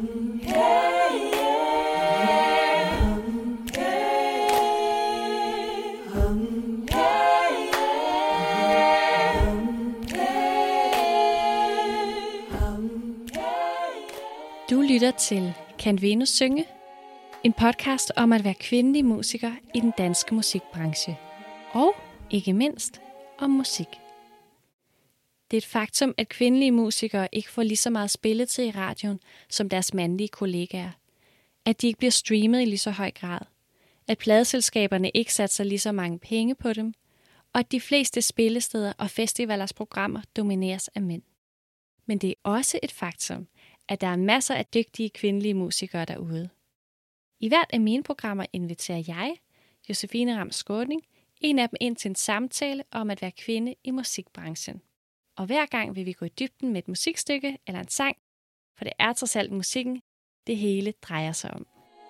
Du lytter til Kan Venus synge? En podcast om at være kvindelig musiker i den danske musikbranche. Og ikke mindst om musik. Det er et faktum, at kvindelige musikere ikke får lige så meget spilletid i radioen som deres mandlige kollegaer. At de ikke bliver streamet i lige så høj grad. At pladeselskaberne ikke satser lige så mange penge på dem. Og at de fleste spillesteder og festivalers programmer domineres af mænd. Men det er også et faktum, at der er masser af dygtige kvindelige musikere derude. I hvert af mine programmer inviterer jeg, Josefine Ram Skaaning, en af dem ind til en samtale om at være kvinde i musikbranchen. Og hver gang vil vi gå i dybden med et musikstykke eller en sang, for det er trods alt musikken, det hele drejer sig om.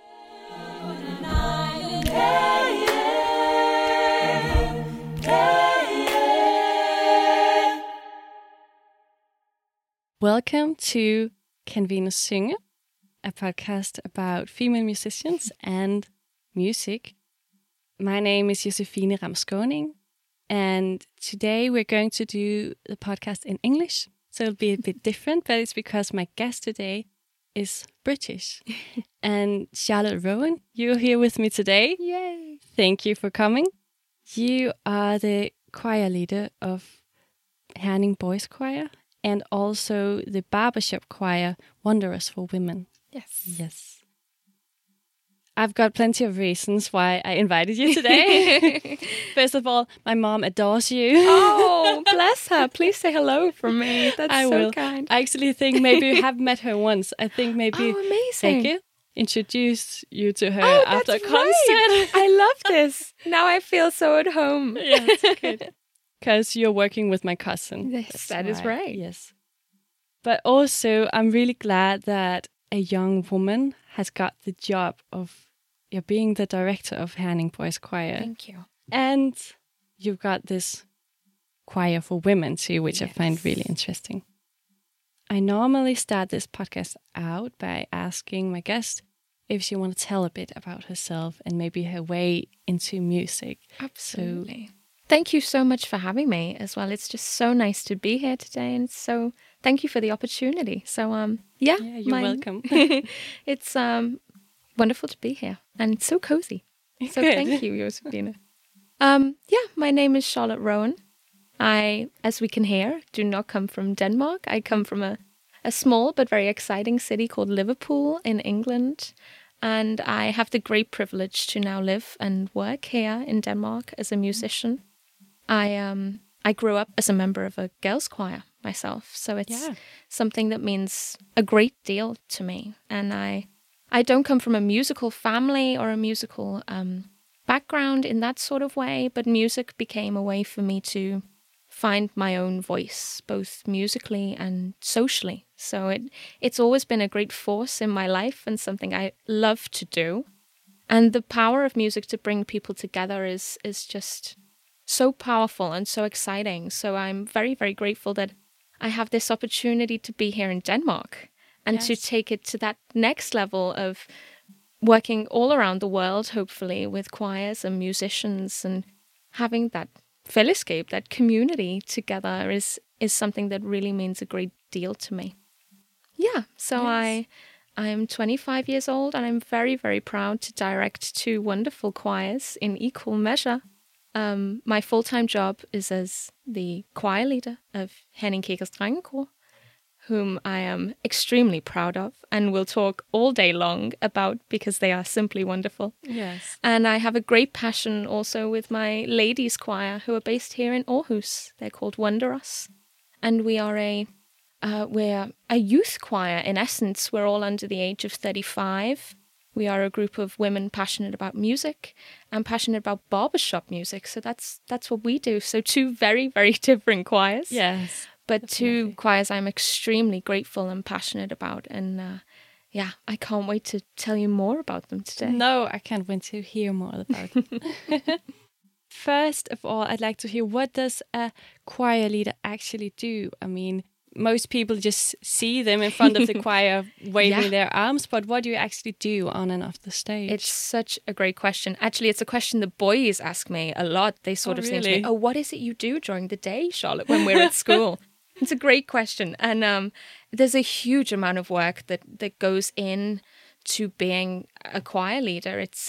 Welcome to Kan Venus synge? A podcast about female musicians and music. My name is Josefine Ram Skaaning, and today we're going to do the podcast in English. So it'll be a bit different, but it's because my guest today is British. And Charlotte Rowan, you're here with me today. Yay! Thank you for coming. You are the choir leader of Herning Boys Choir and also the barbershop choir Wanderers for Women. Yes. I've got plenty of reasons why I invited you today. First of all, my mom adores you. Oh, bless her. Please say hello from me. That's I so will. kind. I actually think maybe you have met her once. I think maybe amazing. Becky introduced you to her after a that's concert. Right. I love this. Now I feel so at home. Yes, good. Because you're working with my cousin. Yes, that is right. Yes. But also, I'm really glad that a young woman has got the job of being the director of Herning Boys Choir. Thank you. And you've got this choir for women too, which I find really interesting. I normally start this podcast out by asking my guest if she wants to tell a bit about herself and maybe her way into music. Absolutely. Thank you so much for having me as well. It's just so nice to be here today, and so thank you for the opportunity. So you're welcome. It's wonderful to be here and so cozy. So thank you, Josefine. My name is Charlotte Rowan. I, as we can hear, do not come from Denmark. I come from a small but very exciting city called Liverpool in England. And I have the great privilege to now live and work here in Denmark as a musician. I grew up as a member of a girls' choir myself, so it's something that means a great deal to me. And I don't come from a musical family or a musical background in that sort of way, but music became a way for me to find my own voice, both musically and socially. So it's always been a great force in my life and something I love to do. And the power of music to bring people together is just so powerful and so exciting. So I'm very, very grateful that I have this opportunity to be here in Denmark and to take it to that next level of working all around the world, hopefully, with choirs and musicians, and having that fellesskab, that community together is something that really means a great deal to me. So I'm 25 years old, and I'm very, very proud to direct 2 wonderful choirs in equal measure. My full-time job is as the choir leader of Herning Kirkers Drengekor, whom I am extremely proud of and will talk all day long about because they are simply wonderful. Yes. And I have a great passion also with my ladies' choir, who are based here in Aarhus. They're called Wanderers. And we are we're a youth choir in essence. We're all under the age of 35. We are a group of women passionate about music and passionate about barbershop music. So that's what we do. So 2 very, very different choirs. Yes. But definitely. 2 choirs I'm extremely grateful and passionate about. And I can't wait to tell you more about them today. No, I can't wait to hear more about it. First of all, I'd like to hear, what does a choir leader actually do? I mean, most people just see them in front of the choir waving their arms, but what do you actually do on and off the stage? It's such a great question. Actually, it's a question the boys ask me a lot. They sort of say to me, oh, what is it you do during the day, Charlotte, when we're at school? It's a great question. And there's a huge amount of work that goes in to being a choir leader. It's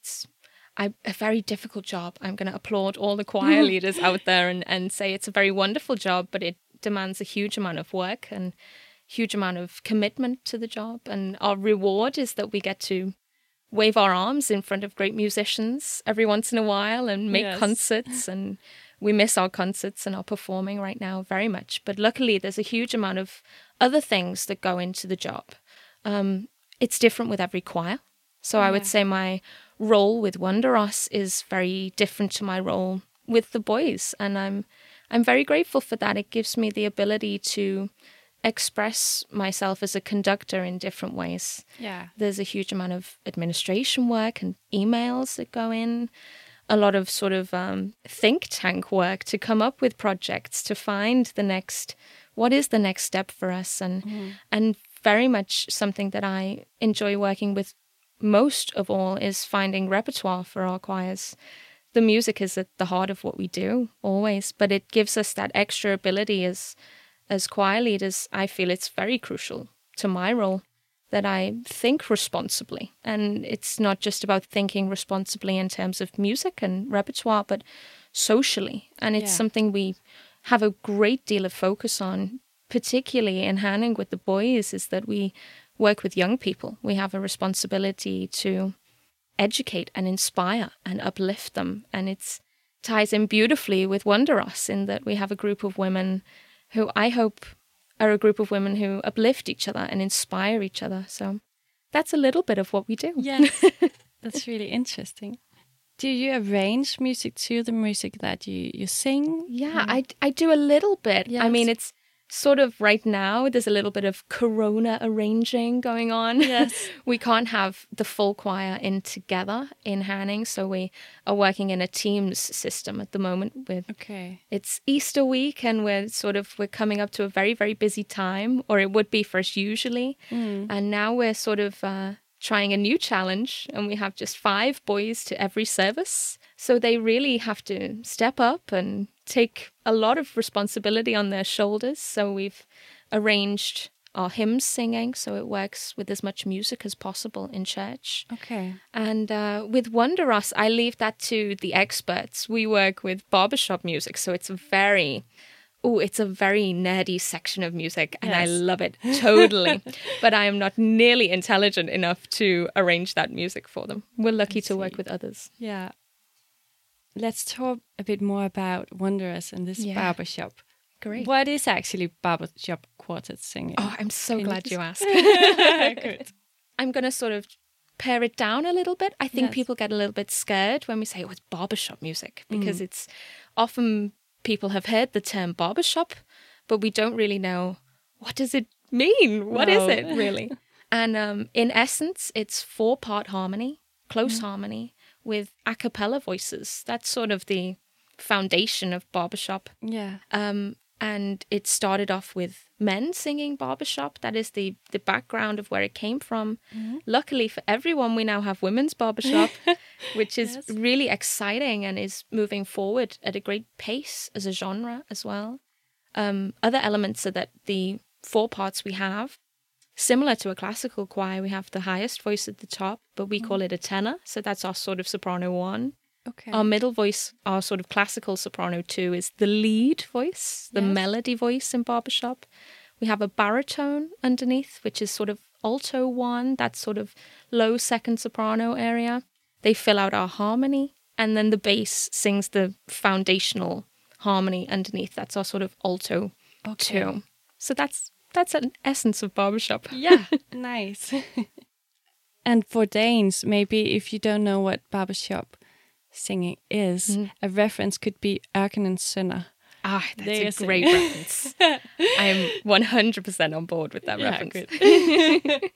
a very difficult job. I'm going to applaud all the choir leaders out there and say it's a very wonderful job, but it demands a huge amount of work and huge amount of commitment to the job. And our reward is that we get to wave our arms in front of great musicians every once in a while and make concerts. And we miss our concerts and our performing right now very much. But luckily, there's a huge amount of other things that go into the job. It's different with every choir. So I would say my role with Wonderos is very different to my role with the boys. And I'm very grateful for that. It gives me the ability to express myself as a conductor in different ways. Yeah. There's a huge amount of administration work and emails that go in, a lot of sort of think tank work to come up with projects, to find what is the next step for us. And very much something that I enjoy working with most of all is finding repertoire for our choirs. The music is at the heart of what we do, always, but it gives us that extra ability as choir leaders. I feel it's very crucial to my role that I think responsibly. And it's not just about thinking responsibly in terms of music and repertoire, but socially. And it's something we have a great deal of focus on, particularly in Hanning with the boys, is that we work with young people. We have a responsibility to educate and inspire and uplift them. And it ties in beautifully with Wonderos in that we have a group of women who I hope are a group of women who uplift each other and inspire each other. So that's a little bit of what we do. Yes, that's really interesting. Do you arrange music to the music that you sing? Yeah, I do a little bit. Yes. I mean, it's sort of right now, there's a little bit of Corona arranging going on. Yes. We can't have the full choir in together in Hanning, so we are working in a Teams system at the moment. It's Easter week, and we're coming up to a very, very busy time, or it would be for us usually. And now we're sort of trying a new challenge, and we have just 5 boys to every service. So they really have to step up and take a lot of responsibility on their shoulders. So we've arranged our hymns singing so it works with as much music as possible in church. Okay. And with Wonderos, I leave that to the experts. We work with barbershop music, so it's a very nerdy section of music, and I love it totally. But I am not nearly intelligent enough to arrange that music for them. We're lucky to work with others. Yeah. Let's talk a bit more about Wonderos and this barbershop. Great. What is actually barbershop quartet singing? Oh, I'm so glad you asked. Good. I'm going to sort of pare it down a little bit. I think people get a little bit scared when we say, it's barbershop music, because it's often people have heard the term barbershop, but we don't really know, what does it mean? What is it really? And in essence, it's 4-part harmony, close harmony, with a cappella voices. That's sort of the foundation of barbershop. Yeah. And it started off with men singing barbershop. That is the background of where it came from. Luckily for everyone, we now have women's barbershop, which is really exciting and is moving forward at a great pace as a genre as well. Other elements are that the 4 parts we have, similar to a classical choir, we have the highest voice at the top, but we call it a tenor. So that's our sort of soprano 1. Okay. Our middle voice, our sort of classical soprano 2, is the lead voice, the melody voice in barbershop. We have a baritone underneath, which is sort of alto 1, that sort of low second soprano area. They fill out our harmony, and then the bass sings the foundational harmony underneath. That's our sort of alto 2. So that's an essence of barbershop. Yeah, nice. And for Danes, maybe if you don't know what barbershop singing is, a reference could be Ørkenens Sønner. That's a great reference. I'm 100% on board with that reference. Good.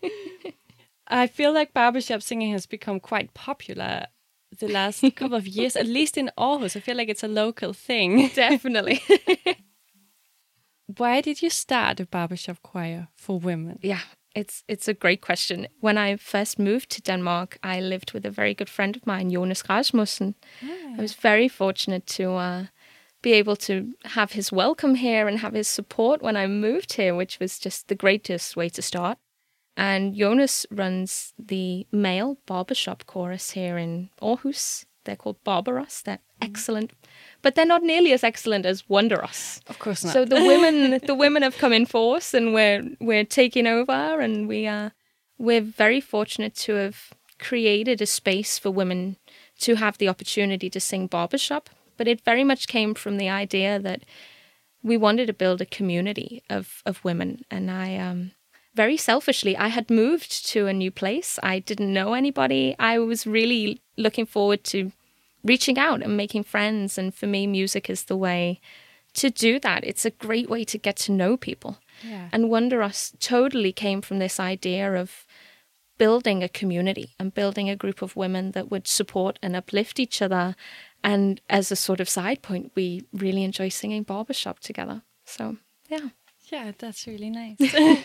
I feel like barbershop singing has become quite popular the last couple of years, at least in Aarhus. I feel like it's a local thing. Definitely. why did you start a barbershop choir for women? Yeah, it's a great question. When I first moved to Denmark, I lived with a very good friend of mine, Jonas Rasmussen. I was very fortunate to be able to have his welcome here and have his support when I moved here, which was just the greatest way to start. And Jonas runs the male barbershop chorus here in Aarhus. They're called Barbaros. They're excellent, but they're not nearly as excellent as Wonderos. Of course not. So the women have come in force, and we're taking over, and we're very fortunate to have created a space for women to have the opportunity to sing barbershop. But it very much came from the idea that we wanted to build a community of women, and I very selfishly, I had moved to a new place. I didn't know anybody. I was really looking forward to reaching out and making friends. And for me, music is the way to do that. It's a great way to get to know people. Yeah. And Wonderos totally came from this idea of building a community and building a group of women that would support and uplift each other. And as a sort of side point, we really enjoy singing barbershop together. So, yeah. Yeah, that's really nice.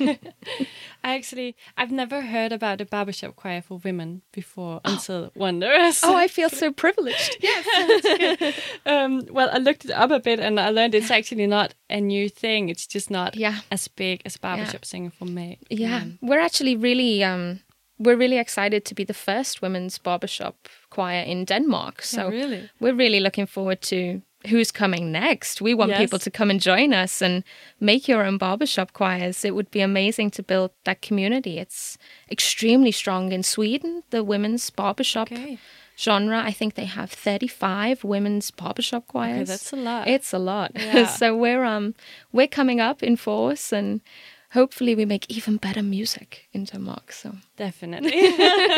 I've never heard about a barbershop choir for women before until Wonderos. Oh, I feel so privileged. Yes. Well, I looked it up a bit and I learned it's actually not a new thing. It's just not as big as barbershop singing for me. Yeah, we're actually really... we're really excited to be the first women's barbershop choir in Denmark. So we're really looking forward to who's coming next. We want people to come and join us and make your own barbershop choirs. It would be amazing to build that community. It's extremely strong in Sweden, the women's barbershop genre. I think they have 35 women's barbershop choirs. Okay, that's a lot. It's a lot. Yeah. So we're coming up in force, and hopefully we make even better music in Denmark. So definitely.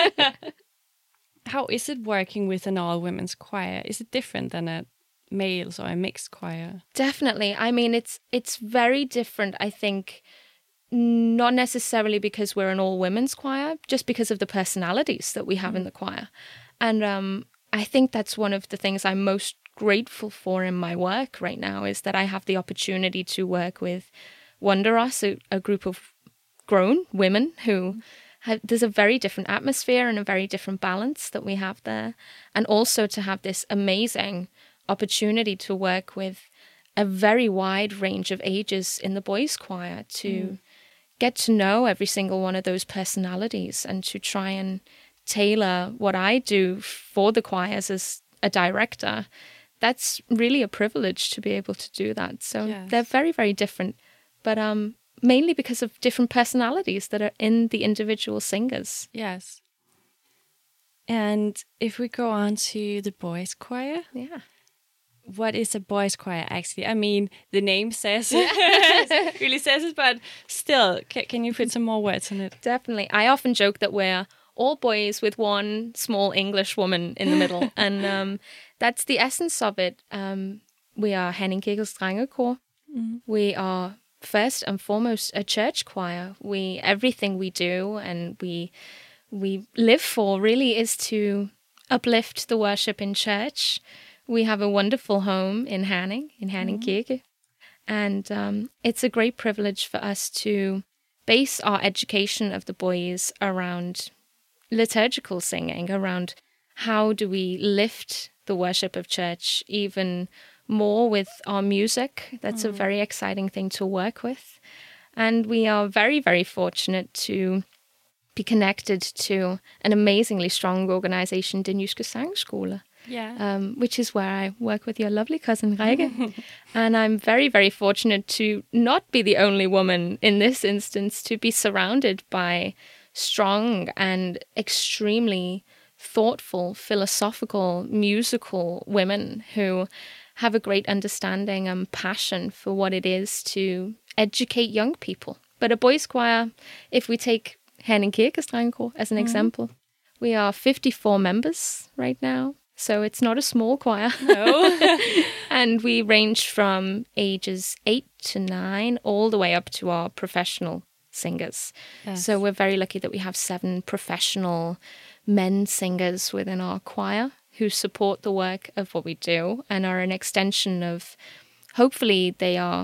How is it working with an all-women's choir? Is it different than a males or a mixed choir? Definitely. I mean, it's very different, I think, not necessarily because we're an all-women's choir, just because of the personalities that we have in the choir. And I think that's one of the things I'm most grateful for in my work right now, is that I have the opportunity to work with Wonderos, a group of grown women who there's a very different atmosphere and a very different balance that we have there. And also to have this amazing opportunity to work with a very wide range of ages in the boys' choir, to get to know every single one of those personalities and to try and tailor what I do for the choirs as a director. That's really a privilege to be able to do that. So they're very, very different, but mainly because of different personalities that are in the individual singers. Yes. And if we go on to the boys' choir, what is a boys' choir actually? I mean, the name says really says it, but still, can you put some more words on it? Definitely. I often joke that we're all boys with one small English woman in the middle, and that's the essence of it. We are Herning Kirkes Drengekor. We are first and foremost a church choir. Everything we do and we live for really is to uplift the worship in church. We have a wonderful home in Herning Kirke. And it's a great privilege for us to base our education of the boys around liturgical singing, around how do we lift the worship of church even more with our music. That's a very exciting thing to work with. And we are very, very fortunate to be connected to an amazingly strong organization, Den Jyske Sangskole. Which is where I work with your lovely cousin Rikke. And I'm very, very fortunate to not be the only woman in this instance, to be surrounded by strong and extremely thoughtful, philosophical, musical women who have a great understanding and passion for what it is to educate young people. But a boys' choir, if we take Herning Kirkes Drengekor as an example, we are 54 members right now. So it's not a small choir. No. And we range from ages 8 to 9 all the way up to our professional singers. Yes. So we're very lucky that we have 7 professional men singers within our choir who support the work of what we do and are an extension of, hopefully they are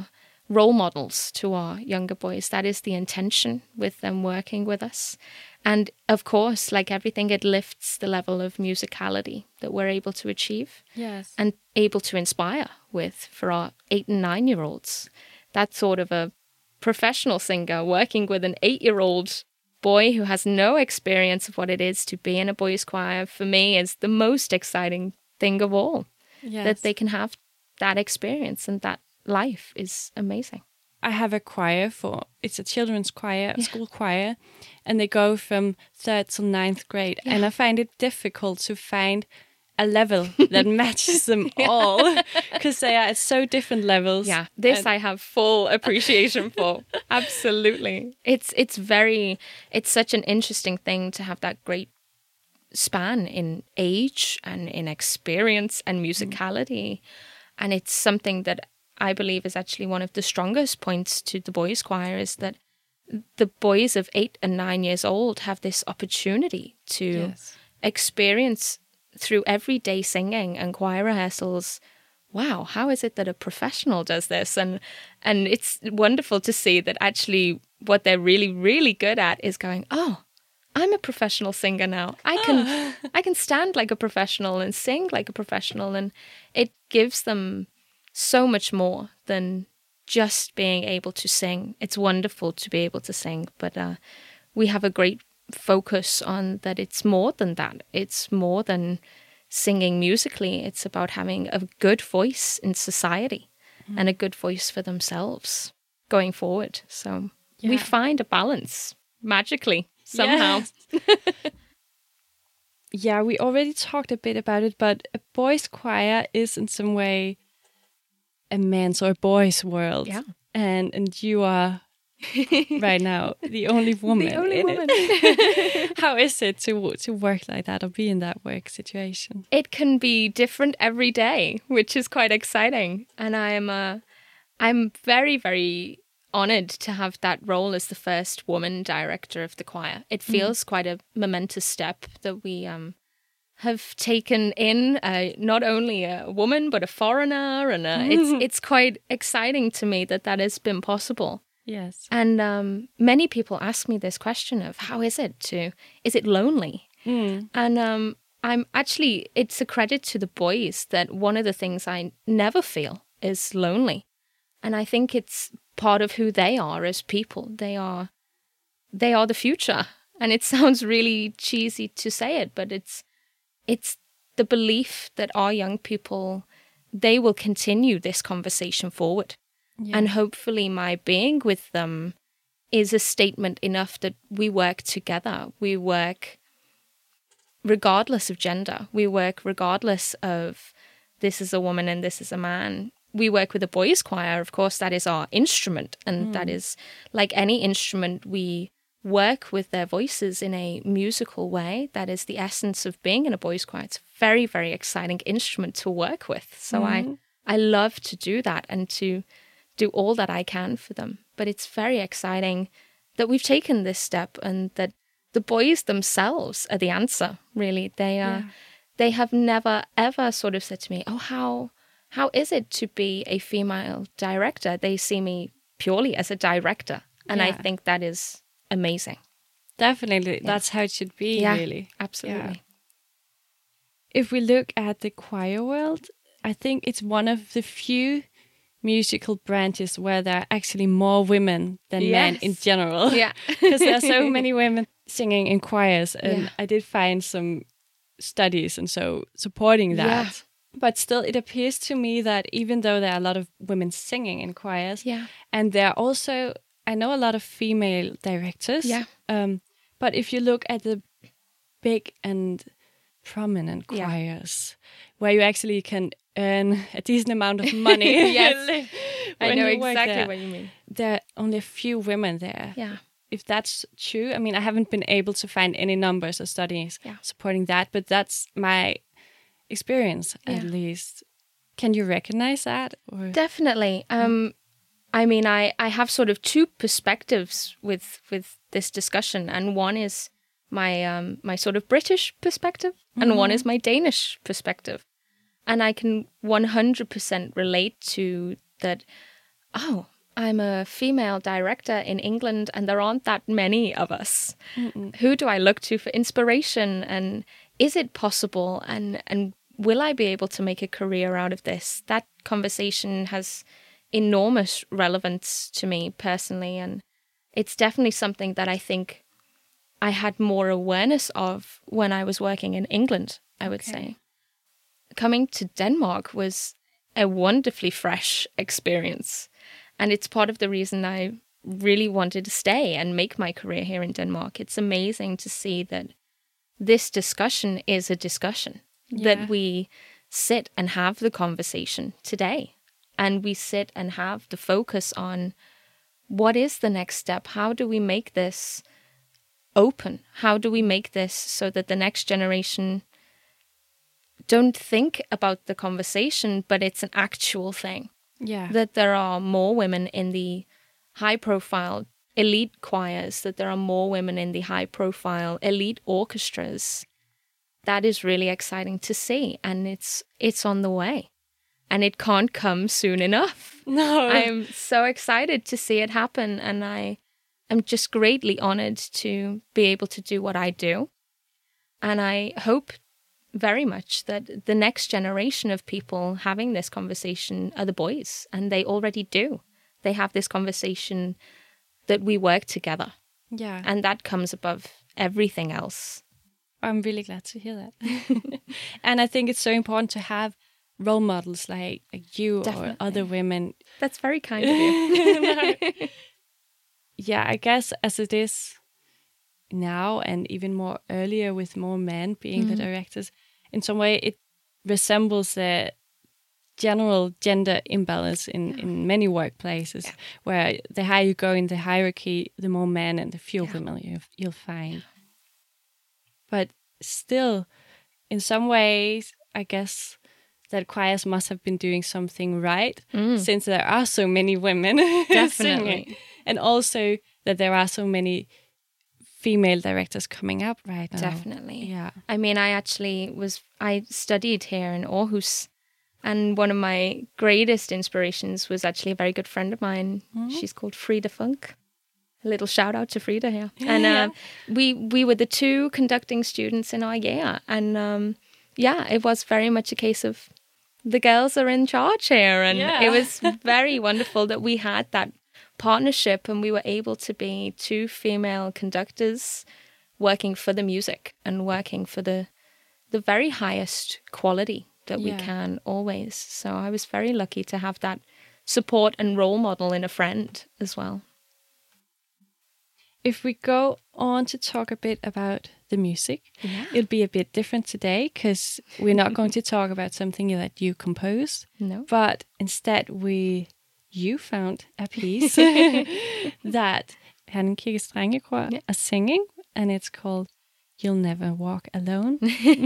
role models to our younger boys. That is the intention with them working with us. And of course, like everything, it lifts the level of musicality that we're able to achieve. Yes. And able to inspire with for our 8 and 9-year-olds. That sort of a professional singer working with an 8-year-old boy who has no experience of what it is to be in a boys' choir, for me, is the most exciting thing of all. Yes. That they can have that experience, and that life is amazing. I have a choir it's a children's choir, a school choir, and they go from 3rd to 9th grade. Yeah. And I find it difficult to find a level that matches them all, because they are at so different levels. Yeah, I have full appreciation for. Absolutely. It's such an interesting thing to have that great span in age and in experience and musicality. And it's something that I believe is actually one of the strongest points to the boys' choir, is that the boys of 8 and 9 years old have this opportunity to experience through everyday singing and choir rehearsals. Wow, how is it that a professional does this? And it's wonderful to see that actually what they're really, really good at is going, oh, I'm a professional singer now. I can stand like a professional and sing like a professional. And it gives them so much more than just being able to sing. It's wonderful to be able to sing, but we have a great focus on that. It's more than that. It's more than singing musically. It's about having a good voice in society and a good voice for themselves going forward. So we find a balance magically somehow. Yeah, we already talked a bit about it, but a boys' choir is in some way a man's or a boy's world. Yeah. And you are right now the only woman woman. it. How is it to work like that or be in that work situation? It can be different every day, which is quite exciting. And I'm very, very honored to have that role as the first woman director of the choir. It feels quite a momentous step that we have taken in not only a woman but a foreigner, and it's quite exciting to me that has been possible. Yes. And many people ask me this question of is it lonely? And I'm actually, it's a credit to the boys that one of the things I never feel is lonely. And I think it's part of who they are as people. They are the future. And it sounds really cheesy to say it, but it's the belief that our young people, they will continue this conversation forward. Yeah. And hopefully my being with them is a statement enough that we work together. We work regardless of gender. We work regardless of this is a woman and this is a man. We work with a boys' choir. Of course, that is our instrument. And that is like any instrument, we work with their voices in a musical way. That is the essence of being in a boys' choir. It's a very, very exciting instrument to work with. So I love to do that and to do all that I can for them. But it's very exciting that we've taken this step and that the boys themselves are the answer, really. They have never, ever sort of said to me, oh, how is it to be a female director? They see me purely as a director. And I think that is amazing. Definitely. That's how it should be, really. Absolutely. Yeah. If we look at the choir world, I think it's one of the few musical branches where there are actually more women than men in general. Yeah. Because there are so many women singing in choirs. And I did find some studies and so supporting that. Yeah. But still, it appears to me that even though there are a lot of women singing in choirs, and there are also, I know a lot of female directors, but if you look at the big and prominent choirs, where you actually can earn a decent amount of money. Yes, I know exactly what you mean. There are only a few women there. Yeah. If that's true, I mean, I haven't been able to find any numbers or studies supporting that, but that's my experience, at least. Can you recognize that? Or? Definitely. I mean, I have sort of two perspectives with this discussion, and one is my my sort of British perspective, and one is my Danish perspective. And I can 100% relate to that. Oh, I'm a female director in England and there aren't that many of us. Who do I look to for inspiration? And is it possible? And will I be able to make a career out of this? That conversation has enormous relevance to me personally. And it's definitely something that I think I had more awareness of when I was working in England, I would say. Coming to Denmark was a wonderfully fresh experience. And it's part of the reason I really wanted to stay and make my career here in Denmark. It's amazing to see that this discussion is a discussion, that we sit and have the conversation today. And we sit and have the focus on what is the next step? How do we make this open? How do we make this so that the next generation don't think about the conversation, but it's an actual thing? Yeah. That there are more women in the high-profile elite choirs, that there are more women in the high-profile elite orchestras. That is really exciting to see, and it's on the way. And it can't come soon enough. No. I'm so excited to see it happen, and I am just greatly honored to be able to do what I do. And I hope very much that the next generation of people having this conversation are the boys, and they already do. They have this conversation that we work together. Yeah. And that comes above everything else. I'm really glad to hear that. And I think it's so important to have role models like you Definitely. or other women. That's very kind of you. Yeah, I guess as it is now and even more earlier with more men being the directors, in some way it resembles the general gender imbalance in many workplaces, where the higher you go in the hierarchy, the more men and the fewer women you'll find. But still, in some ways, I guess that choirs must have been doing something right, since there are so many women singing. And also that there are so many female directors coming up right now. Definitely. Yeah. I mean, I studied here in Aarhus, and one of my greatest inspirations was actually a very good friend of mine. She's called Frida Funk. A little shout out to Frida here. And we were the two conducting students in our year. And it was very much a case of the girls are in charge here. And it was very wonderful that we had that partnership and we were able to be two female conductors working for the music and working for the very highest quality that we can always. So I was very lucky to have that support and role model in a friend as well. If we go on to talk a bit about the music, it'll be a bit different today because we're not going to talk about something that you composed. No. But instead you found a piece that Herning Strengekor are singing, and it's called You'll Never Walk Alone.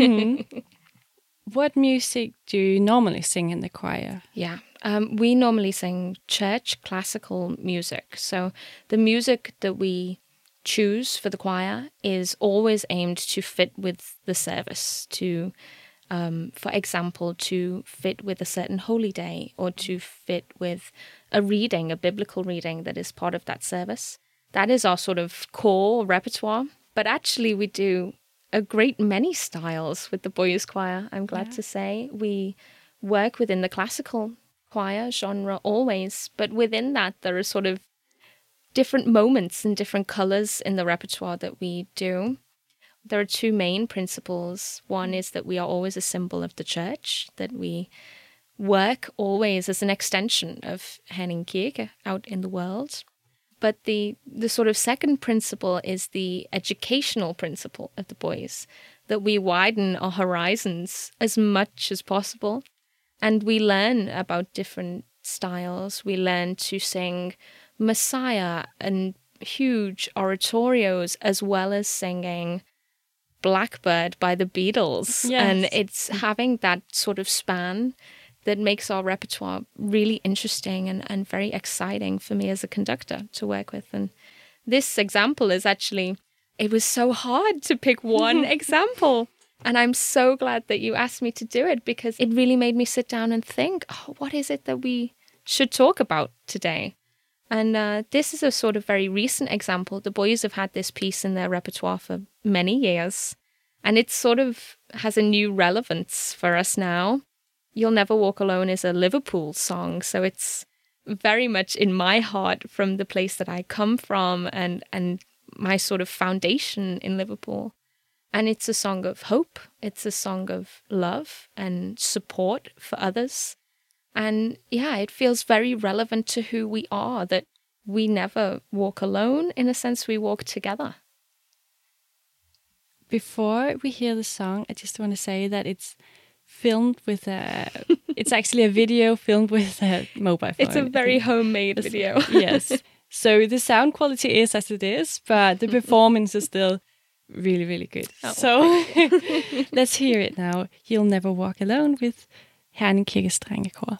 What music do you normally sing in the choir? Yeah, we normally sing church classical music. So the music that we choose for the choir is always aimed to fit with the service, to, for example, to fit with a certain holy day or to fit with a reading, a biblical reading that is part of that service. That is our sort of core repertoire. But actually we do a great many styles with the boys' choir, I'm glad to say. We work within the classical choir genre always, but within that there are sort of different moments and different colors in the repertoire that we do. There are two main principles. One is that we are always a symbol of the church, that we work always as an extension of Herning Kirke out in the world. But the sort of second principle is the educational principle of the boys, that we widen our horizons as much as possible. And we learn about different styles. We learn to sing Messiah and huge oratorios, as well as singing Blackbird by the Beatles. Yes. And it's having that sort of span that makes our repertoire really interesting and very exciting for me as a conductor to work with. And this example is actually, it was so hard to pick one example. And I'm so glad that you asked me to do it, because it really made me sit down and think, what is it that we should talk about today? And this is a sort of very recent example. The boys have had this piece in their repertoire for many years, and it sort of has a new relevance for us now. You'll Never Walk Alone is a Liverpool song, so it's very much in my heart from the place that I come from and my sort of foundation in Liverpool. And it's a song of hope. It's a song of love and support for others. And yeah, it feels very relevant to who we are, that we never walk alone. In a sense, we walk together. Before we hear the song, I just want to say that it's filmed with it's actually a video filmed with a mobile phone. It's a very homemade video. Yes. So the sound quality is as it is, but the performance is still really, really good. Oh, so let's hear it now. You'll Never Walk Alone with Herning Kirkes Drengekor.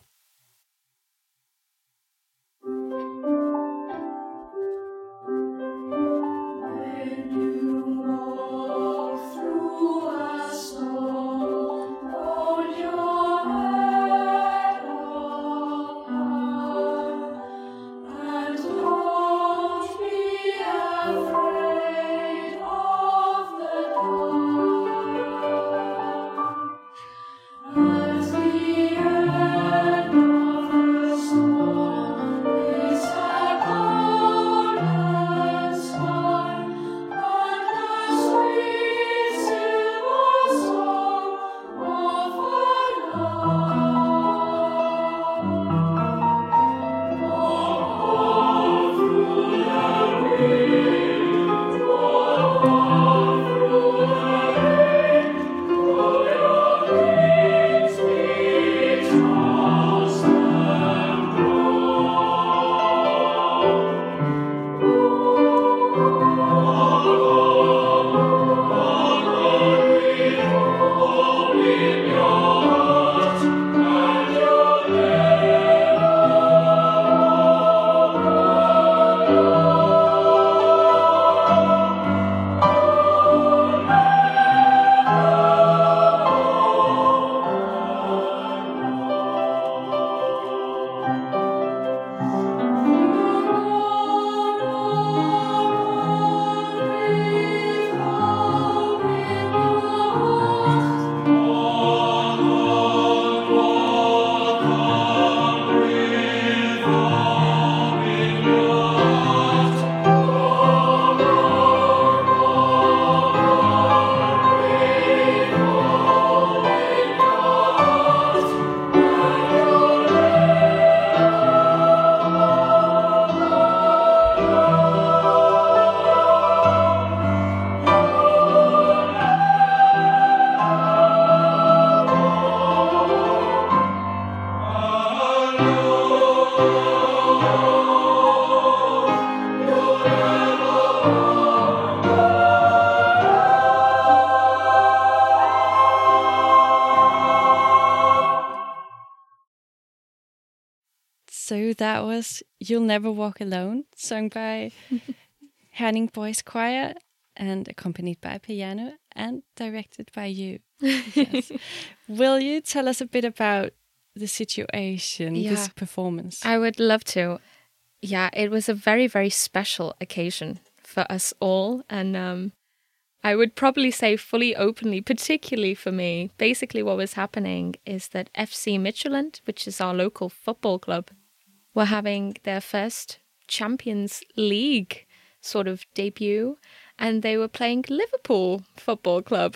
So that was You'll Never Walk Alone, sung by Herning Boys Choir and accompanied by piano and directed by you. Yes. Will you tell us a bit about the situation, this performance? I would love to. Yeah, it was a very, very special occasion for us all. And I would probably say fully openly, particularly for me, basically what was happening is that FC Midtjylland, which is our local football club, were having their first Champions League sort of debut, and they were playing Liverpool Football Club.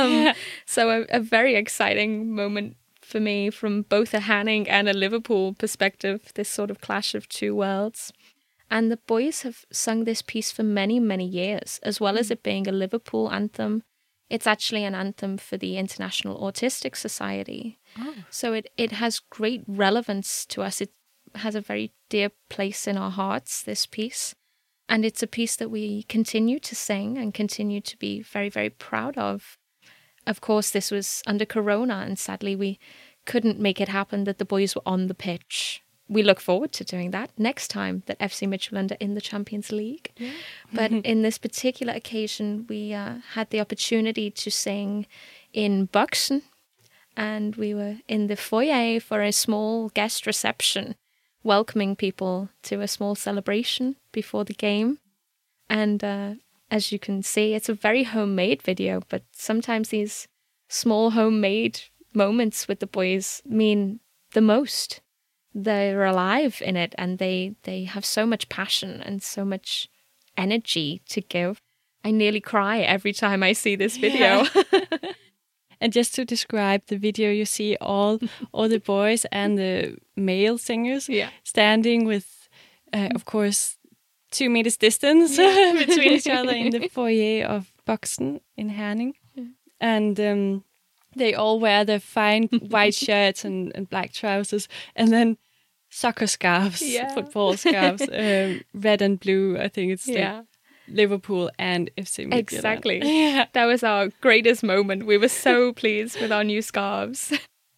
So a very exciting moment for me from both a Herning and a Liverpool perspective, this sort of clash of two worlds. And the boys have sung this piece for many, many years, as well as it being a Liverpool anthem. It's actually an anthem for the International Autistic Society. Oh. So it has great relevance to us. It has a very dear place in our hearts, this piece. And it's a piece that we continue to sing and continue to be very, very proud of. Of course, this was under Corona, and sadly we couldn't make it happen that the boys were on the pitch. We look forward to doing that next time that FC Midtjylland are in the Champions League. Yeah. But in this particular occasion, we had the opportunity to sing in Boxen, and we were in the foyer for a small guest reception welcoming people to a small celebration before the game. And as you can see, it's a very homemade video, but sometimes these small homemade moments with the boys mean the most. They're alive in it, and they have so much passion and so much energy to give. I nearly cry every time I see this video. Yeah. And just to describe the video, you see all the boys and the male singers standing with, of course, 2 meters distance between each other in the foyer of Boxen in Herning. Yeah. And they all wear their fine white shirts and black trousers, and then soccer scarves, football scarves, red and blue. I think it's like Liverpool and FC Midtjylland. Exactly. Yeah. That was our greatest moment. We were so pleased with our new scarves.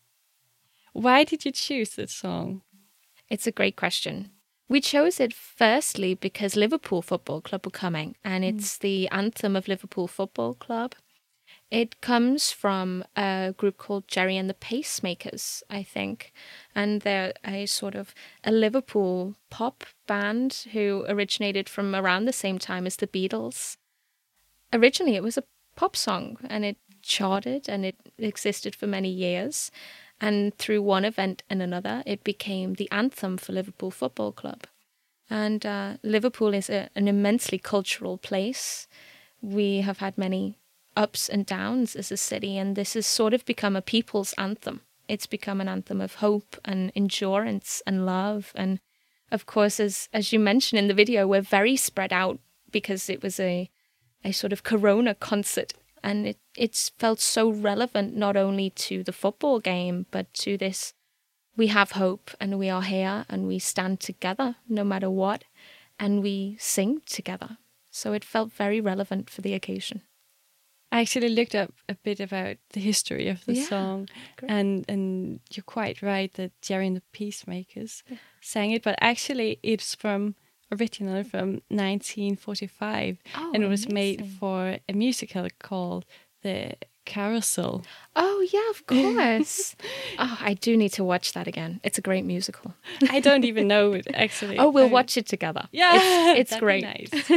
Why did you choose this song? It's a great question. We chose it firstly because Liverpool Football Club were coming, and it's the anthem of Liverpool Football Club. It comes from a group called Gerry and the Pacemakers, I think. And they're a sort of a Liverpool pop band who originated from around the same time as the Beatles. Originally, it was a pop song, and it charted, and it existed for many years. And through one event and another, it became the anthem for Liverpool Football Club. And Liverpool is an immensely cultural place. We have had many ups and downs as a city, and this has sort of become a people's anthem. It's become an anthem of hope and endurance and love. And of course, as you mentioned in the video, we're very spread out because it was a sort of Corona concert, and it's felt so relevant not only to the football game, but to this, we have hope and we are here and we stand together no matter what, and we sing together. So it felt very relevant for the occasion. I actually looked up a bit about the history of the song, and you're quite right that Gerry and the Pacemakers sang it, but actually it's originally from 1945, and it was made for a musical called The Carousel. Oh, yeah, of course. I do need to watch that again. It's a great musical. I don't even know it, actually. Oh, we'll watch it together. Yeah, it's great. Nice.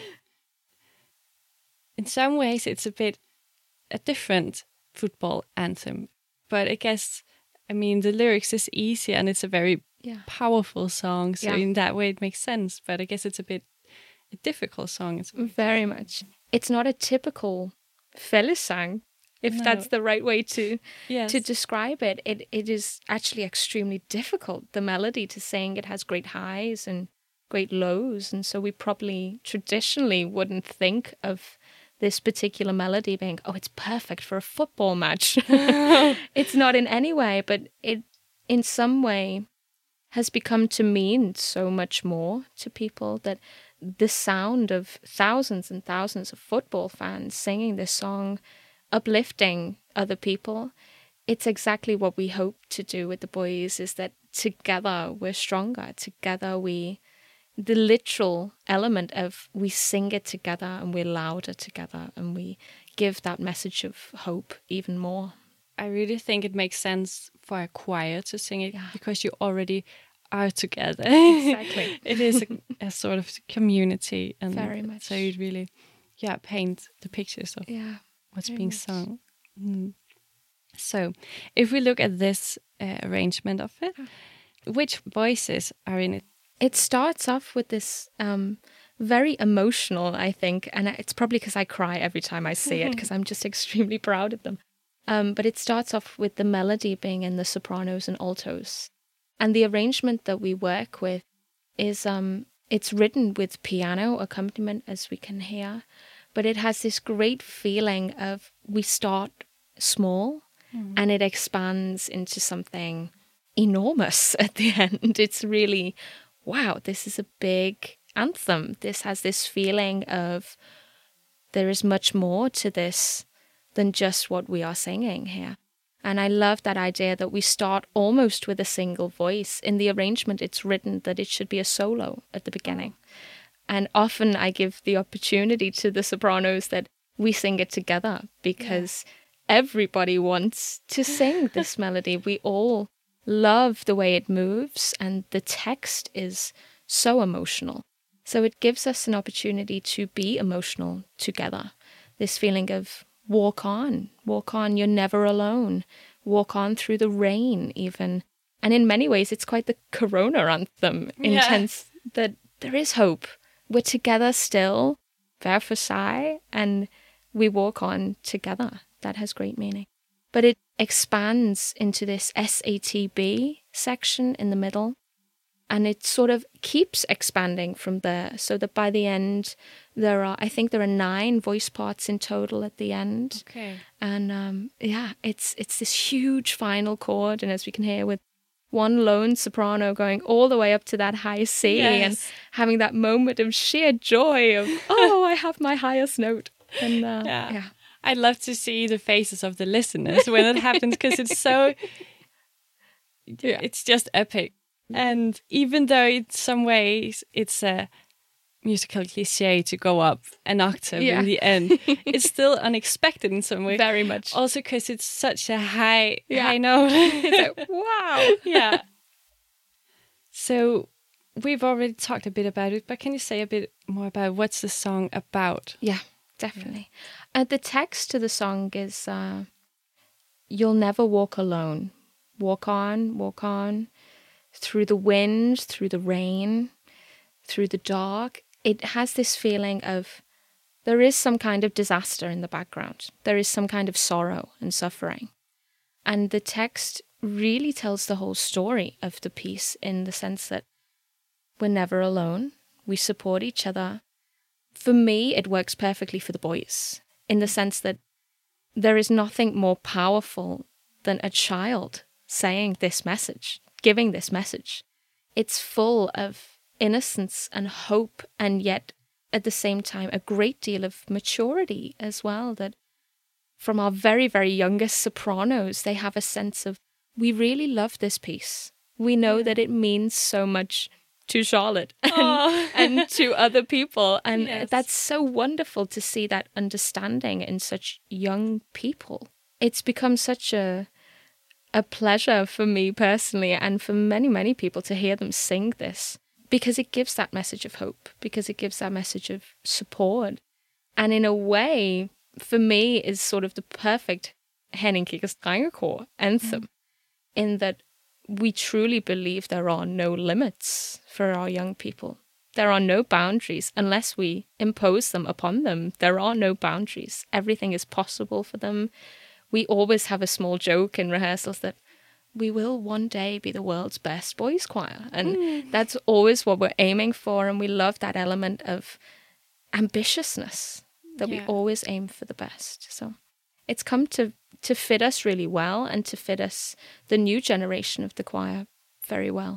In some ways, it's a bit a different football anthem. But I guess, the lyrics is easy and it's a very powerful song. So in that way, it makes sense. But I guess it's a difficult song. Very much. It's not a typical fællessang, if that's the right way to describe it. It is actually extremely difficult. The melody to sing, it has great highs and great lows. And so we probably traditionally wouldn't think of this particular melody being, it's perfect for a football match. It's not in any way, but it in some way has become to mean so much more to people, that the sound of thousands and thousands of football fans singing this song, uplifting other people, it's exactly what we hope to do with the boys, is that together we're stronger, together the literal element of we sing it together and we're louder together and we give that message of hope even more. I really think it makes sense for a choir to sing it because you already are together. Exactly. It is a sort of community. And very much. So you really paint the pictures of what's being sung. Mm. So if we look at this arrangement of it, which voices are in it? It starts off with this very emotional, I think, and it's probably because I cry every time I see it, because I'm just extremely proud of them. But it starts off with the melody being in the sopranos and altos. And the arrangement that we work with is, it's written with piano accompaniment, as we can hear, but it has this great feeling of we start small and it expands into something enormous at the end. It's really, wow, this is a big anthem. This has this feeling of there is much more to this than just what we are singing here. And I love that idea that we start almost with a single voice. In the arrangement, it's written that it should be a solo at the beginning. And often I give the opportunity to the sopranos that we sing it together, because everybody wants to sing this melody. We all love the way it moves, and the text is so emotional. So it gives us an opportunity to be emotional together. This feeling of walk on, you're never alone, walk on through the rain even. And in many ways, it's quite the Corona anthem in sense that there is hope. We're together still, hver for sig, and we walk on together. That has great meaning. But it expands into this SATB section in the middle, and it sort of keeps expanding from there, so that by the end, I think there are 9 voice parts in total at the end. Okay. And it's this huge final chord, and as we can hear, with one lone soprano going all the way up to that high C, and having that moment of sheer joy of, oh, I have my highest note. And I'd love to see the faces of the listeners when it happens, because it's so, it's just epic. And even though in some ways it's a musical cliche to go up an octave in the end, it's still unexpected in some way. Very much. Also because it's such a high note. It's like, wow. Yeah. So we've already talked a bit about it, but can you say a bit more about what's the song about? Yeah, definitely. The text to the song is, you'll never walk alone. Walk on, through the wind, through the rain, through the dark. It has this feeling of there is some kind of disaster in the background. There is some kind of sorrow and suffering. And the text really tells the whole story of the piece, in the sense that we're never alone. We support each other. For me, it works perfectly for the boys, in the sense that there is nothing more powerful than a child saying this message, giving this message. It's full of innocence and hope, and yet at the same time a great deal of maturity as well, that from our very, very youngest sopranos, they have a sense of, we really love this piece. We know that it means so much to Charlotte and to other people. And that's so wonderful to see that understanding in such young people. It's become such a pleasure for me personally, and for many, many people, to hear them sing this, because it gives that message of hope, because it gives that message of support. And in a way, for me, is sort of the perfect Henning Kickers Drengekor anthem, in that we truly believe there are no limits for our young people. There are no boundaries unless we impose them upon them. There are no boundaries. Everything is possible for them. We always have a small joke in rehearsals that we will one day be the world's best boys choir. And that's always what we're aiming for. And we love that element of ambitiousness, that we always aim for the best. So it's come to fit us really well, and to fit us, the new generation of the choir, very well.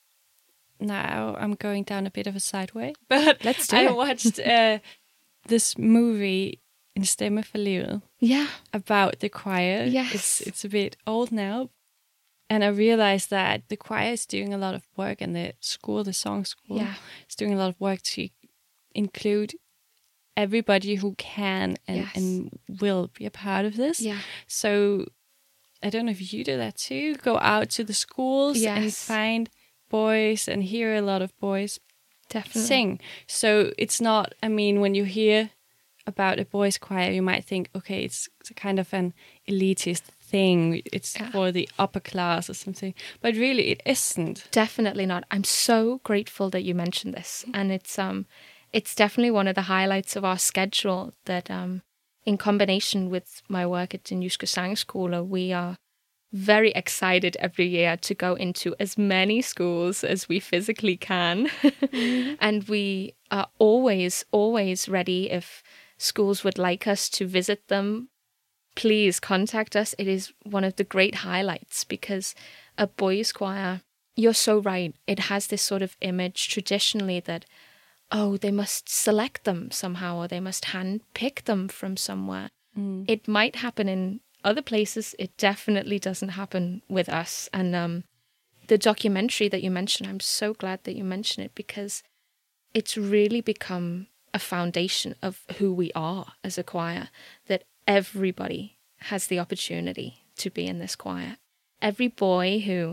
Now I'm going down a bit of a sideway, but Let's do it. I watched this movie, In Stemme for Livet, about the choir. Yes. It's a bit old now. And I realized that the choir is doing a lot of work, and the song school, is doing a lot of work to include everybody who can and will be a part of this. Yeah. So I don't know if you do that too. Go out to the schools and find boys and hear a lot of boys sing. So it's not, I mean, when you hear about a boys' choir, you might think, okay, it's a kind of an elitist thing. It's for the upper class or something. But really, it isn't. Definitely not. I'm so grateful that you mentioned this. And it's definitely one of the highlights of our schedule, that in combination with my work at Den Jyske Sangskole, we are very excited every year to go into as many schools as we physically can. And we are always, always ready. If schools would like us to visit them, please contact us. It is one of the great highlights, because a boys' choir, you're so right, it has this sort of image traditionally that, oh, they must select them somehow, or they must hand-pick them from somewhere. It might happen in other places. It definitely doesn't happen with us. And the documentary that you mentioned, I'm so glad that you mentioned it, because it's really become a foundation of who we are as a choir, that everybody has the opportunity to be in this choir. Every boy who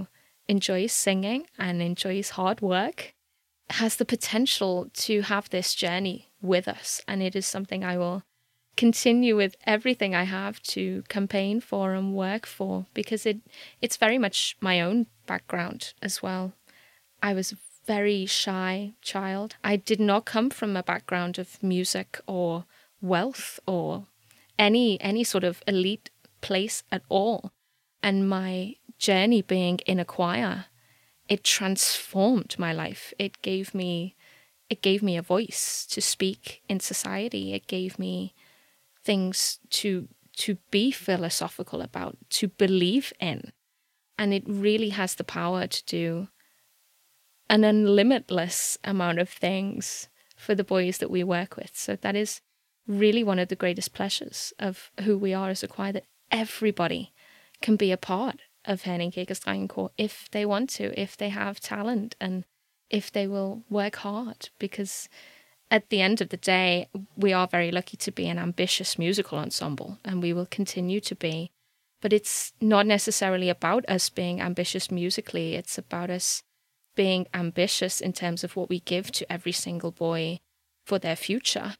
enjoys singing and enjoys hard work has the potential to have this journey with us. And it is something I will continue with everything I have to campaign for and work for, because it's very much my own background as well. I was a very shy child. I did not come from a background of music or wealth or any sort of elite place at all. And my journey being in a choir, it transformed my life. It gave me a voice to speak in society. It gave me things to be philosophical about, to believe in. And it really has the power to do an unlimitless amount of things for the boys that we work with. So that is really one of the greatest pleasures of who we are as a choir, that everybody can be a part of Herning Kirkes Drengekor if they want to, if they have talent, and if they will work hard. Because at the end of the day, we are very lucky to be an ambitious musical ensemble, and we will continue to be. But it's not necessarily about us being ambitious musically. It's about us being ambitious in terms of what we give to every single boy for their future.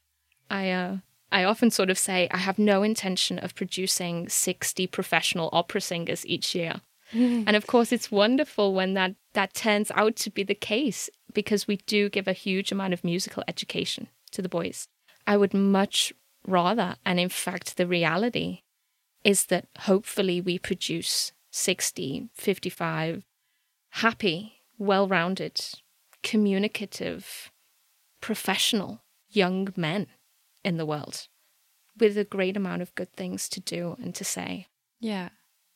I often sort of say I have no intention of producing 60 professional opera singers each year. And of course, it's wonderful when that turns out to be the case, because we do give a huge amount of musical education to the boys. I would much rather, and in fact, the reality is that hopefully we produce 60, 55 happy, well-rounded, communicative, professional young men in the world with a great amount of good things to do and to say. Yeah.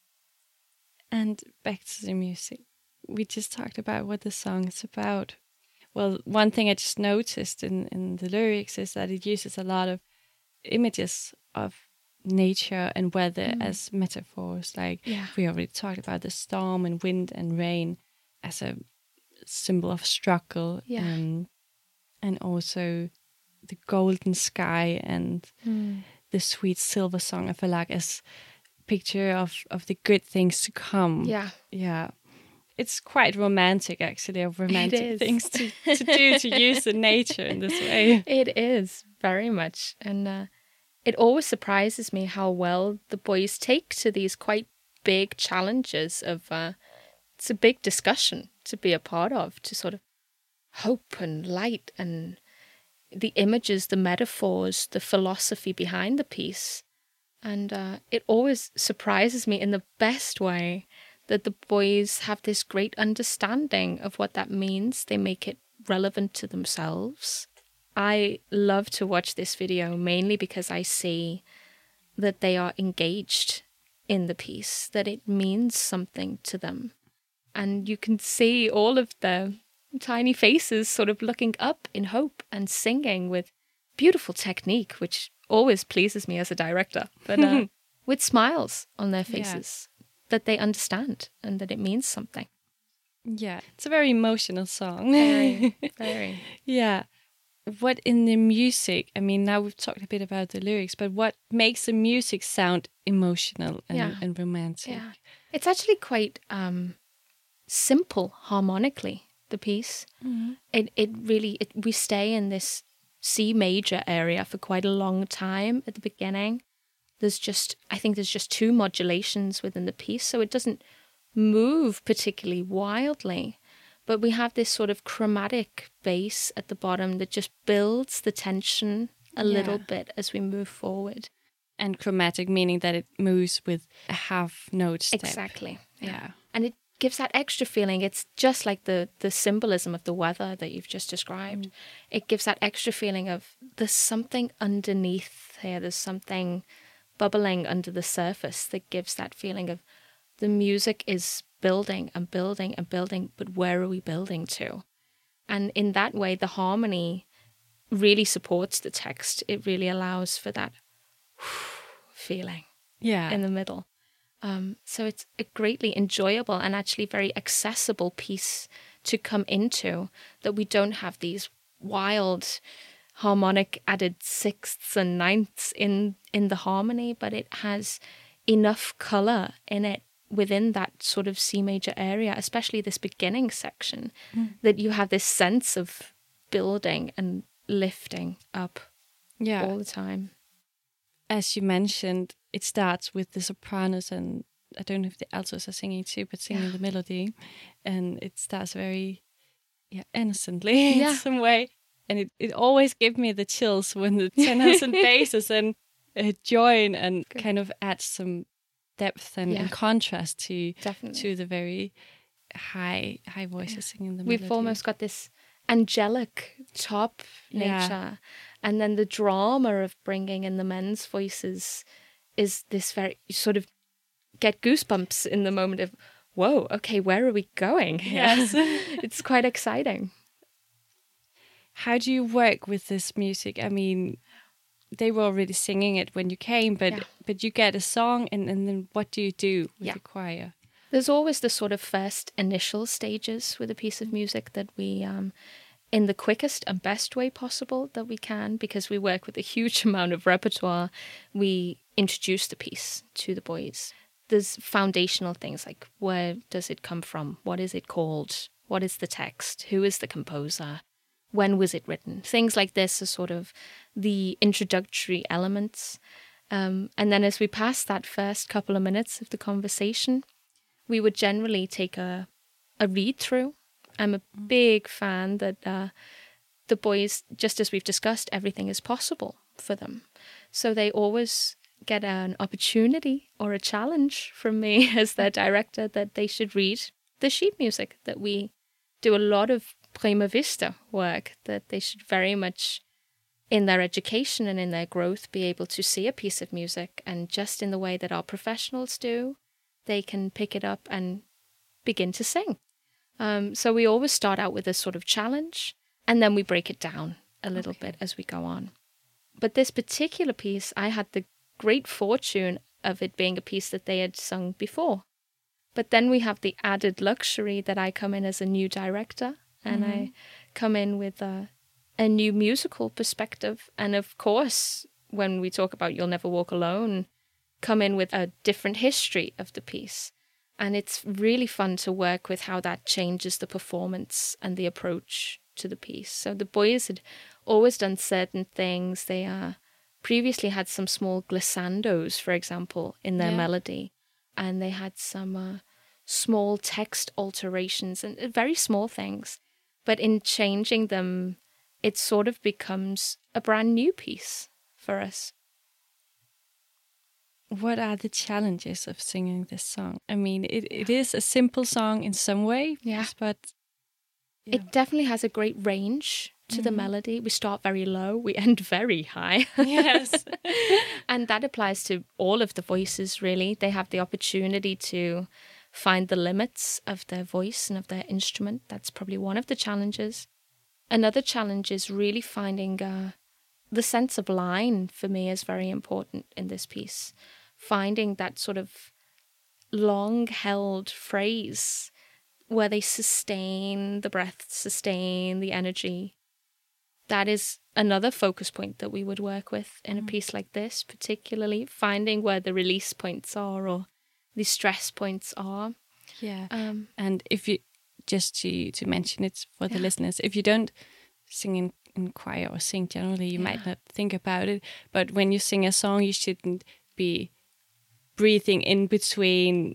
And back to the music. We just talked about what the song is about. Well, one thing I just noticed in the lyrics is that it uses a lot of images of nature and weather as metaphors. Like we already talked about the storm and wind and rain as a symbol of struggle. And also the golden sky and the sweet silver song, I feel like, as picture of the good things to come. Yeah. It's quite romantic, actually, of romantic things to do, to use the nature in this way. It is, very much. And it always surprises me how well the boys take to these quite big challenges of, it's a big discussion to be a part of, to sort of hope and light and the images, the metaphors, the philosophy behind the piece. And it always surprises me in the best way that the boys have this great understanding of what that means. They make it relevant to themselves. I love to watch this video mainly because I see that they are engaged in the piece, that it means something to them. And you can see all of the tiny faces sort of looking up in hope and singing with beautiful technique, which always pleases me as a director, but with smiles on their faces, that they understand and that it means something. Yeah, it's a very emotional song. Very, very. Yeah. What in the music, I mean, now we've talked a bit about the lyrics, but what makes the music sound emotional and romantic? Yeah. It's actually quite simple harmonically, the piece. Mm-hmm. We stay in this C major area for quite a long time at the beginning. I think there's just 2 modulations within the piece, so it doesn't move particularly wildly. But we have this sort of chromatic bass at the bottom that just builds the tension a little bit as we move forward. And chromatic meaning that it moves with a half note step. Exactly. Yeah. And it gives that extra feeling. It's just like the symbolism of the weather that you've just described. It gives that extra feeling of there's something underneath here. There's something bubbling under the surface that gives that feeling of the music is building and building and building, but where are we building to? And in that way, the harmony really supports the text. It really allows for that feeling in the middle. So it's a greatly enjoyable and actually very accessible piece to come into, that we don't have these wild harmonic added sixths and ninths in the harmony, but it has enough color in it within that sort of C major area, especially this beginning section, that you have this sense of building and lifting up all the time. As you mentioned, it starts with the sopranos, and I don't know if the altos are singing too, but singing the melody, and it starts very innocently in some way, and it always gives me the chills when the tenors and basses and join and kind of add some depth and contrast to the very high voices singing the melody. We've almost got this angelic top nature, and then the drama of bringing in the men's voices is this very sort of get goosebumps in the moment of, whoa, okay, where are we going? Yes. It's quite exciting. How do you work with this music? I mean, they were already singing it when you came, but you get a song, and then what do you do with the choir? There's always the sort of first initial stages with a piece of music that we, in the quickest and best way possible that we can, because we work with a huge amount of repertoire, we introduce the piece to the boys. There's foundational things like, where does it come from? What is it called? What is the text? Who is the composer? When was it written? Things like this are sort of the introductory elements. And then as we pass that first couple of minutes of the conversation, we would generally take a read-through. I'm a big fan that the boys, just as we've discussed, everything is possible for them. So they always get an opportunity or a challenge from me as their director that they should read the sheet music, that we do a lot of prima vista work, that they should very much, in their education and in their growth, be able to see a piece of music, and just in the way that our professionals do, they can pick it up and begin to sing. So we always start out with a sort of challenge, and then we break it down a little bit as we go on. But this particular piece, I had the great fortune of it being a piece that they had sung before. But then we have the added luxury that I come in as a new director, and I come in with a new musical perspective. And of course, when we talk about You'll Never Walk Alone, come in with a different history of the piece. And it's really fun to work with how that changes the performance and the approach to the piece. So the boys had always done certain things. They previously had some small glissandos, for example, in their melody. And they had some small text alterations and very small things. But in changing them, it sort of becomes a brand new piece for us. What are the challenges of singing this song? I mean, it is a simple song in some way, but it definitely has a great range to the melody. We start very low, we end very high. Yes. And that applies to all of the voices, really. They have the opportunity to find the limits of their voice and of their instrument. That's probably one of the challenges. Another challenge is really finding the sense of line, for me, is very important in this piece. Finding that sort of long-held phrase where they sustain the breath, sustain the energy. That is another focus point that we would work with in a piece like this, particularly finding where the release points are or the stress points are. Yeah. And if you, just to mention it for the listeners, if you don't sing in choir or sing generally, you might not think about it. But when you sing a song, you shouldn't be breathing in between,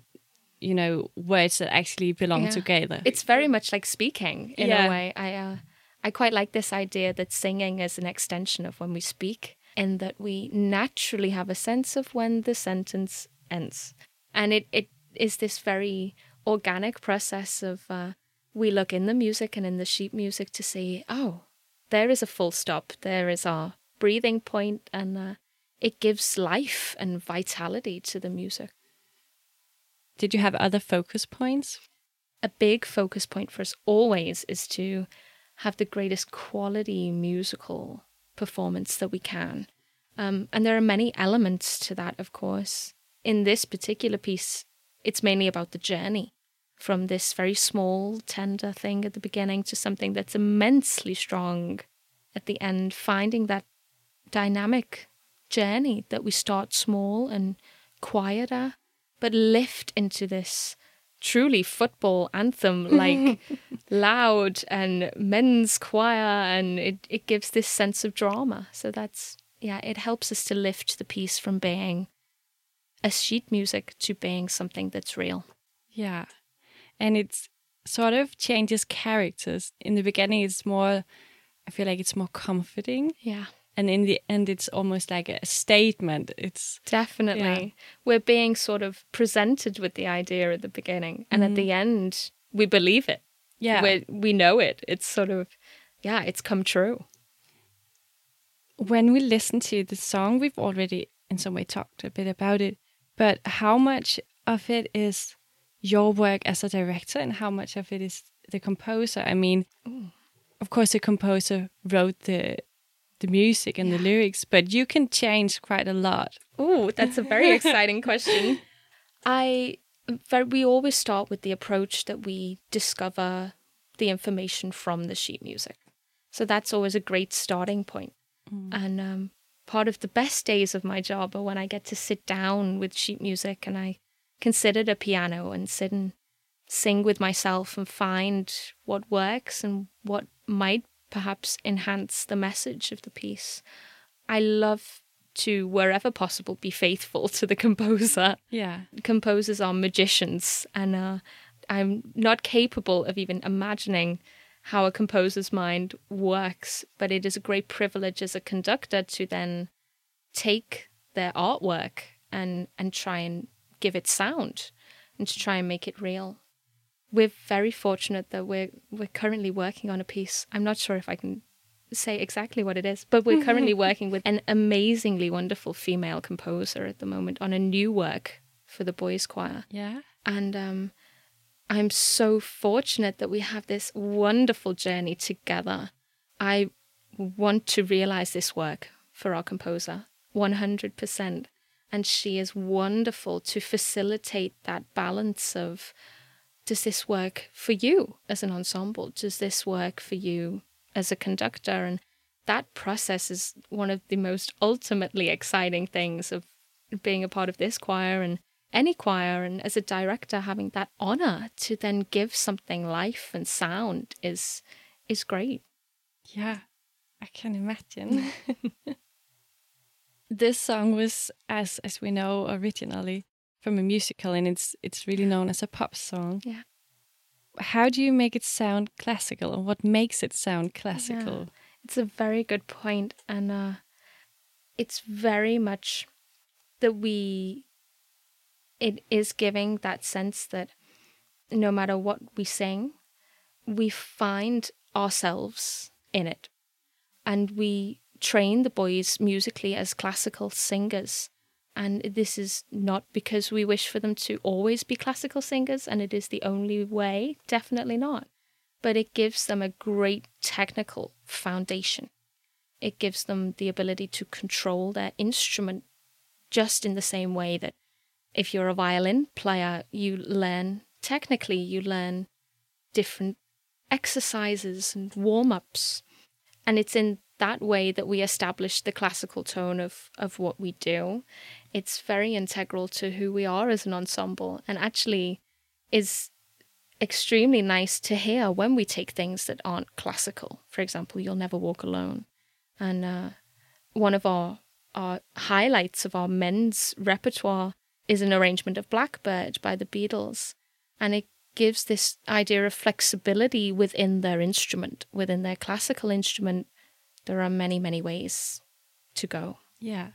words that actually belong together. It's very much like speaking in a way. I quite like this idea that singing is an extension of when we speak, and that we naturally have a sense of when the sentence ends. And it is this very organic process of we look in the music and in the sheet music to see, oh, there is a full stop, there is our breathing point, and it gives life and vitality to the music. Did you have other focus points? A big focus point for us always is to have the greatest quality musical performance that we can. And there are many elements to that, of course. In this particular piece, it's mainly about the journey from this very small, tender thing at the beginning to something that's immensely strong at the end, finding that dynamic journey that we start small and quieter, but lift into this truly football anthem, like loud and men's choir, and it gives this sense of drama. So it helps us to lift the piece from being a sheet music to being something that's real. Yeah. And it's sort of changes characters. In the beginning, it's more, I feel like it's more comforting. Yeah. And in the end, it's almost like a statement. It's definitely, yeah. We're being sort of presented with the idea at the beginning. And at the end, we believe it. Yeah. We know it. It's sort of, it's come true. When we listen to the song, we've already in some way talked a bit about it. But how much of it is your work as a director and how much of it is the composer? I mean, of course, the composer wrote the music and the lyrics, but you can change quite a lot. Oh, that's a very exciting question. We always start with the approach that we discover the information from the sheet music. So that's always a great starting point. And part of the best days of my job are when I get to sit down with sheet music and I can sit at a piano and sit and sing with myself and find what works and what might perhaps enhance the message of the piece. I love to, wherever possible, be faithful to the composer. Yeah. Composers are magicians, and I'm not capable of even imagining how a composer's mind works, but it is a great privilege as a conductor to then take their artwork and try and give it sound and to try and make it real. We're very fortunate that we're currently working on a piece. I'm not sure if I can say exactly what it is, but we're currently working with an amazingly wonderful female composer at the moment on a new work for the boys' choir. Yeah. And I'm so fortunate that we have this wonderful journey together. I want to realize this work for our composer 100%. And she is wonderful to facilitate that balance of, does this work for you as an ensemble? Does this work for you as a conductor? And that process is one of the most ultimately exciting things of being a part of this choir and any choir. And as a director, having that honor to then give something life and sound is great. Yeah, I can imagine. This song was, as we know, originally from a musical, and it's really known as a pop song. Yeah. How do you make it sound classical, and what makes it sound classical? Yeah. It's a very good point, and it's very much that it is giving that sense that no matter what we sing, we find ourselves in it, and we train the boys musically as classical singers. And this is not because we wish for them to always be classical singers, and it is the only way, definitely not. But it gives them a great technical foundation. It gives them the ability to control their instrument just in the same way that if you're a violin player, you learn technically, you learn different exercises and warm-ups. And it's in that way that we establish the classical tone of what we do. It's very integral to who we are as an ensemble, and actually is extremely nice to hear when we take things that aren't classical. For example, You'll Never Walk Alone. And one of our highlights of our men's repertoire is an arrangement of Blackbird by the Beatles. And it gives this idea of flexibility within their instrument, within their classical instrument. There are many, many ways to go. Yeah.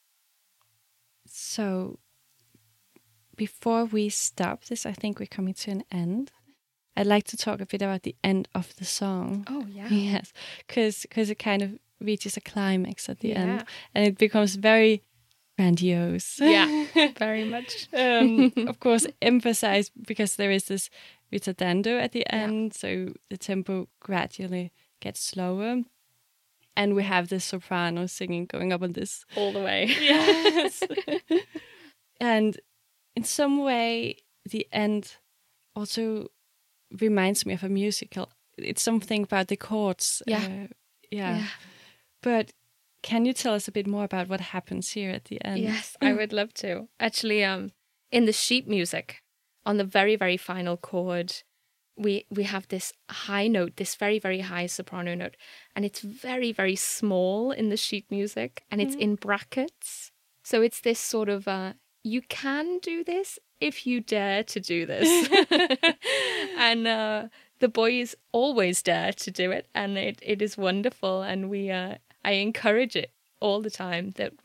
So before we stop this, I think we're coming to an end. I'd like to talk a bit about the end of the song. Oh, yeah. Yes, because it kind of reaches a climax at the end, and it becomes very grandiose. Yeah, very much. Of course, emphasized because there is this ritardando at the end, so the tempo gradually gets slower. And we have the soprano singing going up on this. All the way. Yes. And in some way, the end also reminds me of a musical. It's something about the chords. Yeah. But can you tell us a bit more about what happens here at the end? Yes, I would love to. Actually, in the sheet music, on the very, very final chord, we have this high note, this very, very high soprano note, and it's very, very small in the sheet music, and it's in brackets. So it's this sort of, you can do this if you dare to do this. And the boys always dare to do it, and it is wonderful, and I encourage it all the time that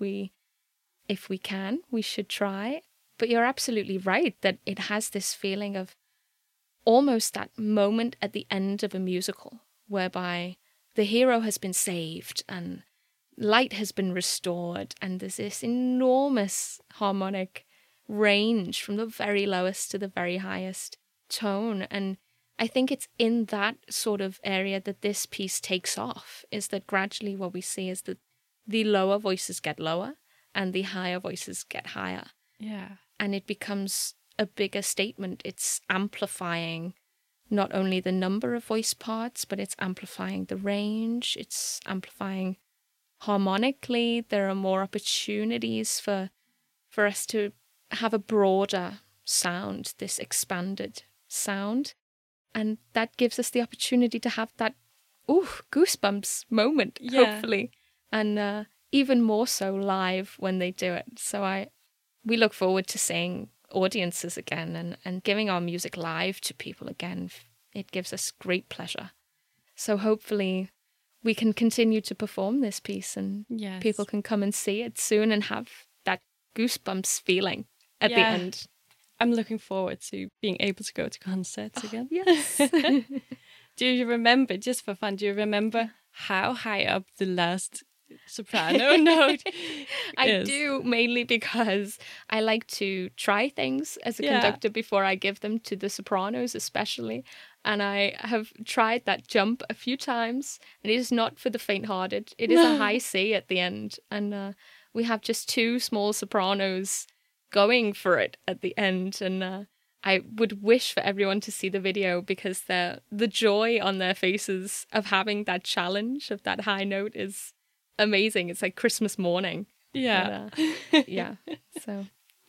if we can, we should try. But you're absolutely right that it has this feeling of almost that moment at the end of a musical whereby the hero has been saved and light has been restored, and there's this enormous harmonic range from the very lowest to the very highest tone. And I think it's in that sort of area that this piece takes off, is that gradually what we see is that the lower voices get lower and the higher voices get higher. Yeah. And it becomes a bigger statement. It's amplifying not only the number of voice parts, but it's amplifying the range. It's amplifying harmonically. There are more opportunities for us to have a broader sound, this expanded sound. And that gives us the opportunity to have that goosebumps moment, hopefully. And even more so live when they do it. So we look forward to seeing audiences again and giving our music live to people again. It gives us great pleasure. So hopefully we can continue to perform this piece, and people can come and see it soon and have that goosebumps feeling at the end. I'm looking forward to being able to go to concerts again. Yes. Do you remember, just for fun, how high up the last soprano note I do, mainly because I like to try things as a conductor before I give them to the sopranos especially, and I have tried that jump a few times, and it is not for the faint-hearted. It is a high C at the end, and we have just two small sopranos going for it at the end, and I would wish for everyone to see the video, because the joy on their faces of having that challenge of that high note is amazing. It's like Christmas morning. Yeah. So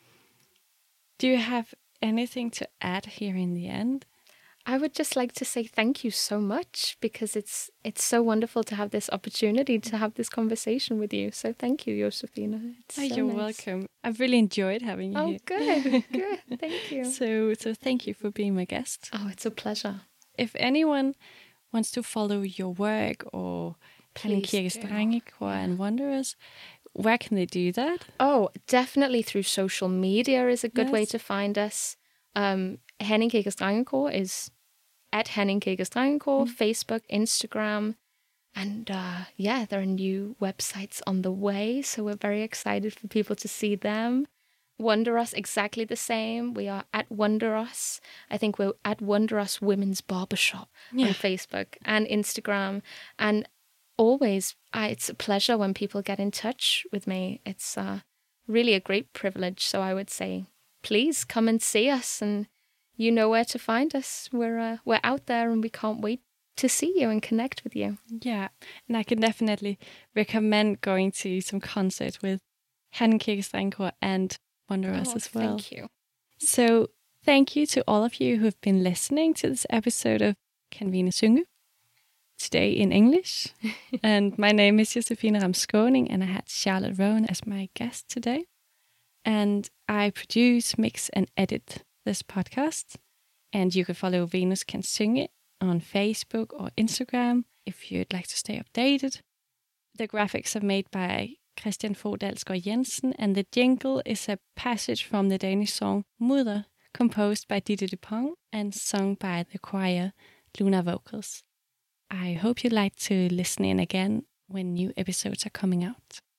do you have anything to add here in the end? I would just like to say thank you so much, because it's so wonderful to have this opportunity to have this conversation with you. So thank you, Josefine. You're welcome. I've really enjoyed having you here. Good. Thank you. So thank you for being my guest. Oh, it's a pleasure. If anyone wants to follow your work or Herning Kirkes Drengekor and Wanderers, where can they do that? Oh, definitely through social media is a good way to find us. Herning Kirkes Drengekor is at Herning Kirkes Drengekor, Facebook, Instagram. And there are new websites on the way, so we're very excited for people to see them. Wanderers, exactly the same. We are at Wanderers. I think we're at Wanderers Women's Barbershop on Facebook and Instagram. And always, it's a pleasure when people get in touch with me. It's really a great privilege. So I would say, please come and see us, and you know where to find us. We're out there, and we can't wait to see you and connect with you. Yeah, and I can definitely recommend going to some concerts with Herning Kirkes Drengekor and Wanderers as well. Thank you. So thank you to all of you who have been listening to this episode of Kan Vine Synge, today in English. And my name is Josefine Ramskåning, and I had Charlotte Rowan as my guest today. And I produce, mix, and edit this podcast. And you can follow Venus Kan Synge on Facebook or Instagram if you'd like to stay updated. The graphics are made by Christian Fogh Dalsgaard Jensen, and the jingle is a passage from the Danish song Mudder, composed by Ditte Dupont and sung by the choir Luna Vocals. I hope you'd like to listen in again when new episodes are coming out.